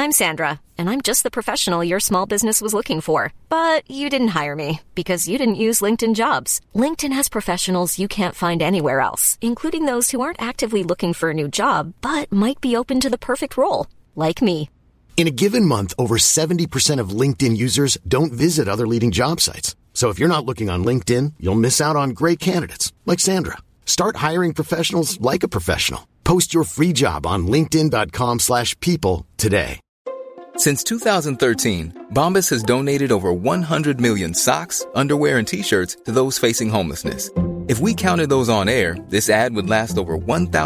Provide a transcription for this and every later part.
I'm Sandra, and I'm just the professional your small business was looking for. But you didn't hire me because you didn't use LinkedIn Jobs. LinkedIn has professionals you can't find anywhere else, including those who aren't actively looking for a new job, but might be open to the perfect role, like me. In a given month, over 70% of LinkedIn users don't visit other leading job sites. So if you're not looking on LinkedIn, you'll miss out on great candidates, like Sandra. Start hiring professionals like a professional. Post your free job on linkedin.com/people today. Since 2013, Bombas has donated over 100 million socks, underwear, and T-shirts to those facing homelessness. If we counted those on air, this ad would last over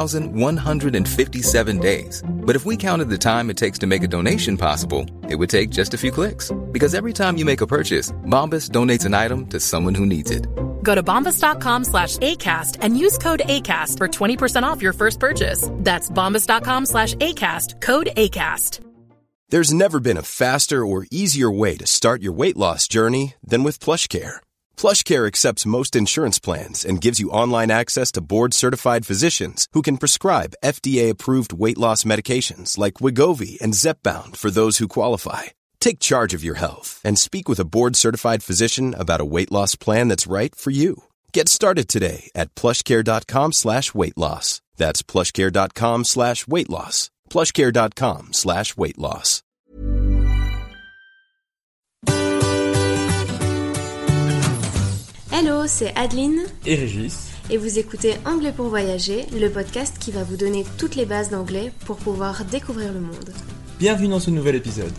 1,157 days. But if we counted the time it takes to make a donation possible, it would take just a few clicks. Because every time you make a purchase, Bombas donates an item to someone who needs it. Go to bombas.com/ACAST and use code ACAST for 20% off your first purchase. That's bombas.com/ACAST, code ACAST. There's never been a faster or easier way to start your weight loss journey than with PlushCare. PlushCare accepts most insurance plans and gives you online access to board-certified physicians who can prescribe FDA-approved weight loss medications like Wegovy and Zepbound for those who qualify. Take charge of your health and speak with a board-certified physician about a weight loss plan that's right for you. Get started today at plushcare.com/weight loss. That's plushcare.com/weight loss. plushcare.com/weight loss. Hello, c'est Adeline et Régis. Et vous écoutez Anglais pour voyager, le podcast qui va vous donner toutes les bases d'anglais pour pouvoir découvrir le monde. Bienvenue dans ce nouvel épisode.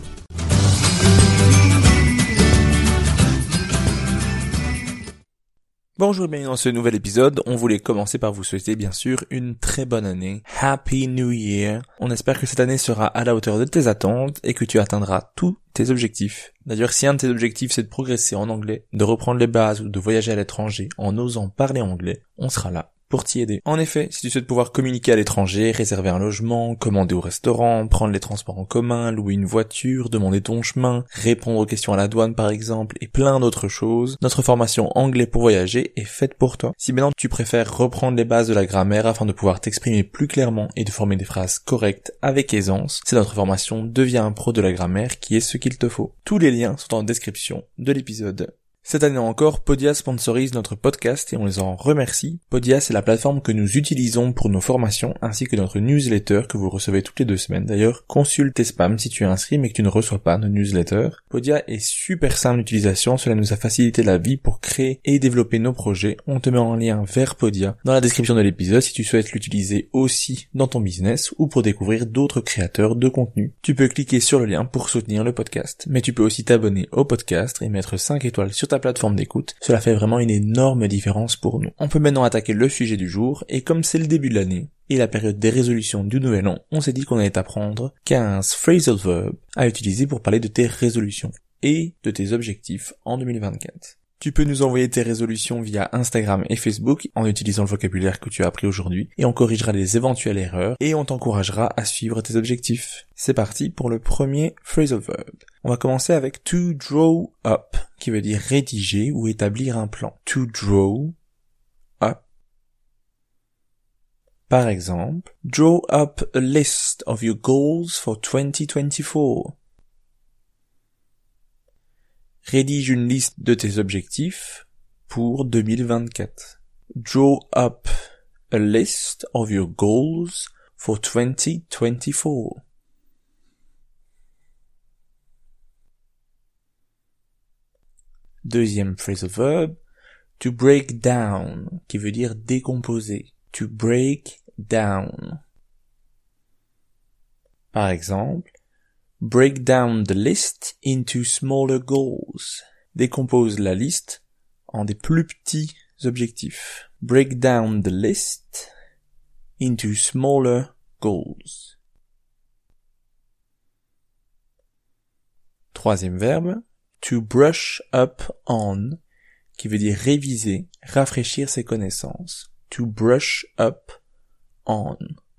Bonjour et bienvenue dans ce nouvel épisode. On voulait commencer par vous souhaiter bien sûr une très bonne année. Happy New Year. On espère que cette année sera à la hauteur de tes attentes et que tu atteindras tous tes objectifs. D'ailleurs, si un de tes objectifs c'est de progresser en anglais, de reprendre les bases ou de voyager à l'étranger en osant parler anglais, on sera là pour t'y aider. En effet, si tu souhaites pouvoir communiquer à l'étranger, réserver un logement, commander au restaurant, prendre les transports en commun, louer une voiture, demander ton chemin, répondre aux questions à la douane par exemple, et plein d'autres choses, notre formation Anglais pour voyager est faite pour toi. Si maintenant tu préfères reprendre les bases de la grammaire afin de pouvoir t'exprimer plus clairement et de former des phrases correctes avec aisance, c'est notre formation Deviens un pro de la grammaire qui est ce qu'il te faut. Tous les liens sont en description de l'épisode. Cette année encore, Podia sponsorise notre podcast et on les en remercie. Podia, c'est la plateforme que nous utilisons pour nos formations ainsi que notre newsletter que vous recevez toutes les 2 semaines. D'ailleurs, consulte tes spams si tu es inscrit mais que tu ne reçois pas nos newsletters. Podia est super simple d'utilisation, cela nous a facilité la vie pour créer et développer nos projets. On te met en lien vers Podia dans la description de l'épisode si tu souhaites l'utiliser aussi dans ton business ou pour découvrir d'autres créateurs de contenu. Tu peux cliquer sur le lien pour soutenir le podcast, mais tu peux aussi t'abonner au podcast et mettre 5 étoiles sur ta plateforme d'écoute, cela fait vraiment une énorme différence pour nous. On peut maintenant attaquer le sujet du jour, et comme c'est le début de l'année, et la période des résolutions du nouvel an, on s'est dit qu'on allait apprendre 15 phrasal verbs à utiliser pour parler de tes résolutions, et de tes objectifs en 2024. Tu peux nous envoyer tes résolutions via Instagram et Facebook en utilisant le vocabulaire que tu as appris aujourd'hui et on corrigera les éventuelles erreurs et on t'encouragera à suivre tes objectifs. C'est parti pour le premier phrasal verb. On va commencer avec to draw up, qui veut dire rédiger ou établir un plan. To draw up. Par exemple, draw up a list of your goals for 2024. Rédige une liste de tes objectifs pour 2024. Draw up a list of your goals for 2024. Deuxième phrasal verb, to break down, qui veut dire décomposer. To break down. Par exemple, break down the list into smaller goals. Décompose la liste en des plus petits objectifs. Break down the list into smaller goals. Troisième verbe, to brush up on, qui veut dire réviser, rafraîchir ses connaissances. To brush up on.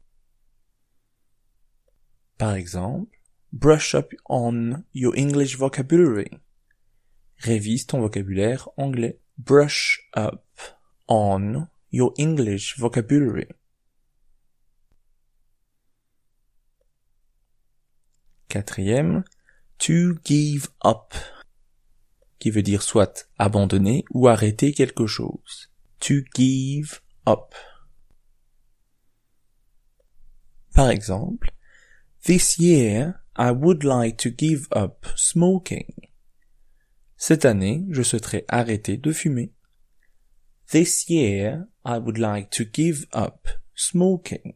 Par exemple, brush up on your English vocabulary. Révise ton vocabulaire anglais. Brush up on your English vocabulary. Quatrième, to give up, qui veut dire soit abandonner ou arrêter quelque chose. To give up. Par exemple, this year, I would like to give up smoking. Cette année, je souhaiterais arrêter de fumer. This year, I would like to give up smoking.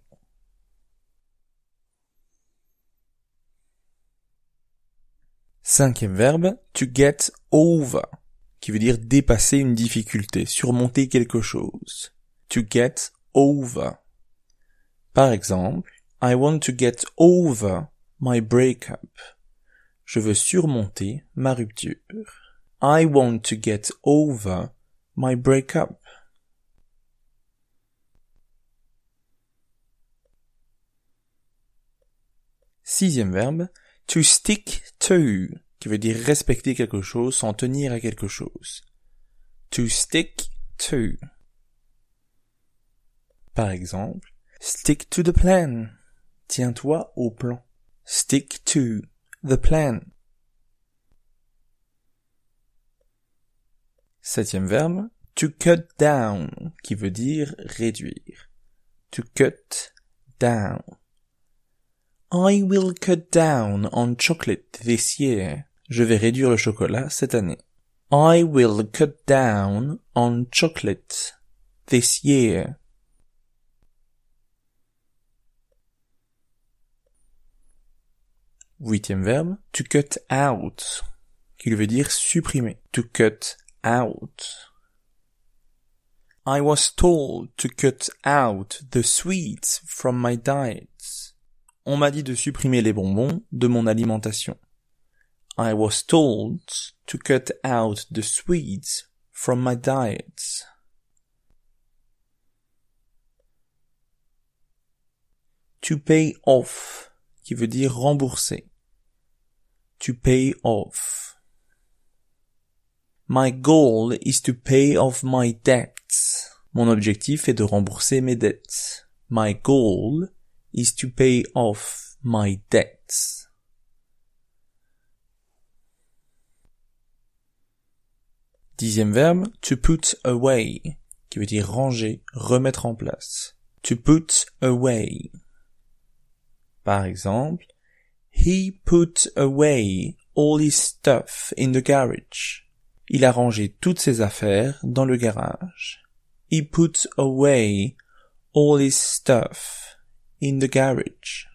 Cinquième verbe, to get over, qui veut dire dépasser une difficulté, surmonter quelque chose. To get over. Par exemple, I want to get over my breakup. Je veux surmonter ma rupture. I want to get over my breakup. Sixième verbe, to stick to, qui veut dire respecter quelque chose, s'en tenir à quelque chose. To stick to. Par exemple, stick to the plan. Tiens-toi au plan. Stick to the plan. Septième verbe, to cut down, qui veut dire réduire. To cut down. I will cut down on chocolate this year. Je vais réduire le chocolat cette année. I will cut down on chocolate this year. Huitième verbe, to cut out, qui veut dire supprimer. To cut out. I was told to cut out the sweets from my diet. On m'a dit de supprimer les bonbons de mon alimentation. I was told to cut out the sweets from my diet. To pay off, qui veut dire rembourser. To pay off. My goal is to pay off my debts. Mon objectif est de rembourser mes dettes. My goal is to pay off my debts. Dixième verbe, to put away, qui veut dire ranger, remettre en place. To put away. Par exemple, he put away all his stuff in the garage. Il a rangé toutes ses affaires dans le garage. He put away all his stuff in the garage.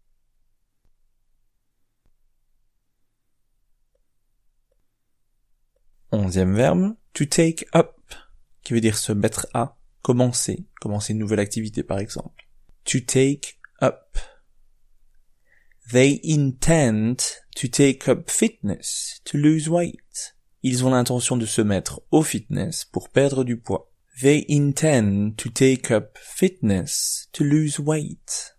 Onzième verbe, to take up, qui veut dire se mettre à, commencer une nouvelle activité par exemple. To take up. They intend to take up fitness to lose weight. Ils ont l'intention de se mettre au fitness pour perdre du poids. They intend to take up fitness to lose weight.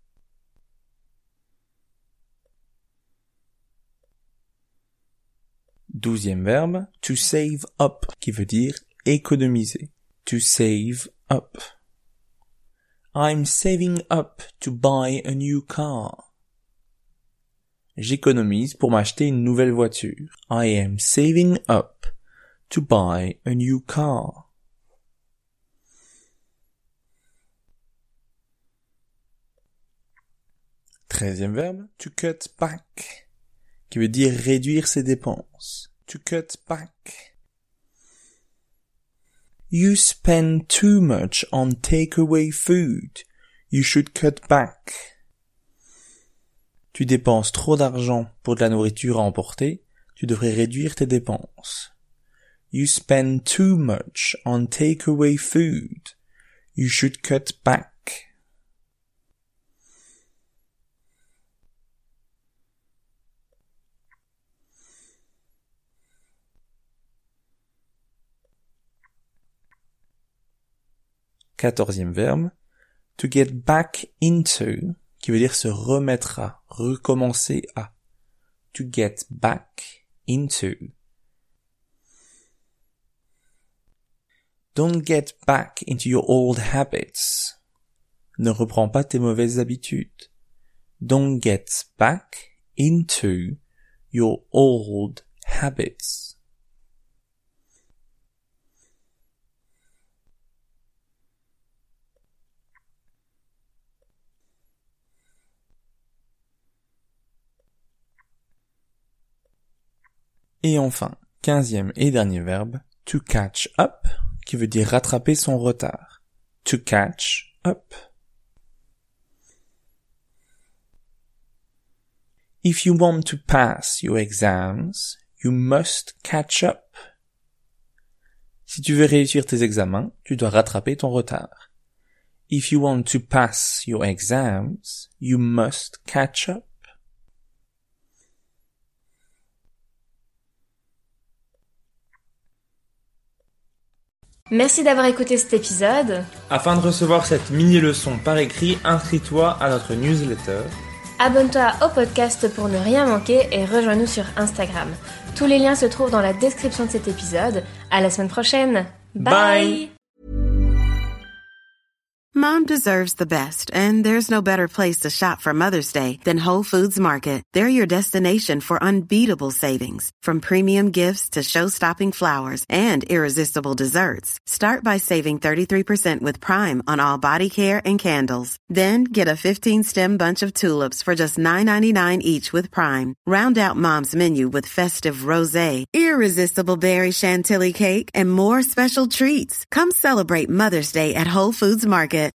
Douzième verbe, to save up, qui veut dire économiser. To save up. I'm saving up to buy a new car. J'économise pour m'acheter une nouvelle voiture. I am saving up to buy a new car. Treizième verbe, to cut back, qui veut dire réduire ses dépenses. To cut back. You spend too much on takeaway food. You should cut back. Tu dépenses trop d'argent pour de la nourriture à emporter, tu devrais réduire tes dépenses. You spend too much on takeaway food. You should cut back. Quatorzième verbe, to get back into, qui veut dire se remettre à, recommencer à. To get back into. Don't get back into your old habits. Ne reprends pas tes mauvaises habitudes. Don't get back into your old habits. Et enfin, 15e et dernier verbe, to catch up, qui veut dire rattraper son retard. To catch up. If you want to pass your exams, you must catch up. Si tu veux réussir tes examens, tu dois rattraper ton retard. If you want to pass your exams, you must catch up. Merci d'avoir écouté cet épisode. Afin de recevoir cette mini-leçon par écrit, inscris-toi à notre newsletter. Abonne-toi au podcast pour ne rien manquer et rejoins-nous sur Instagram. Tous les liens se trouvent dans la description de cet épisode. À la semaine prochaine. Bye. Mom deserves the best, and there's no better place to shop for Mother's Day than Whole Foods Market. They're your destination for unbeatable savings, from premium gifts to show-stopping flowers and irresistible desserts. Start by saving 33% with Prime on all body care and candles. Then get a 15-stem bunch of tulips for just $9.99 each with Prime. Round out Mom's menu with festive rosé, irresistible berry chantilly cake, and more special treats. Come celebrate Mother's Day at Whole Foods Market.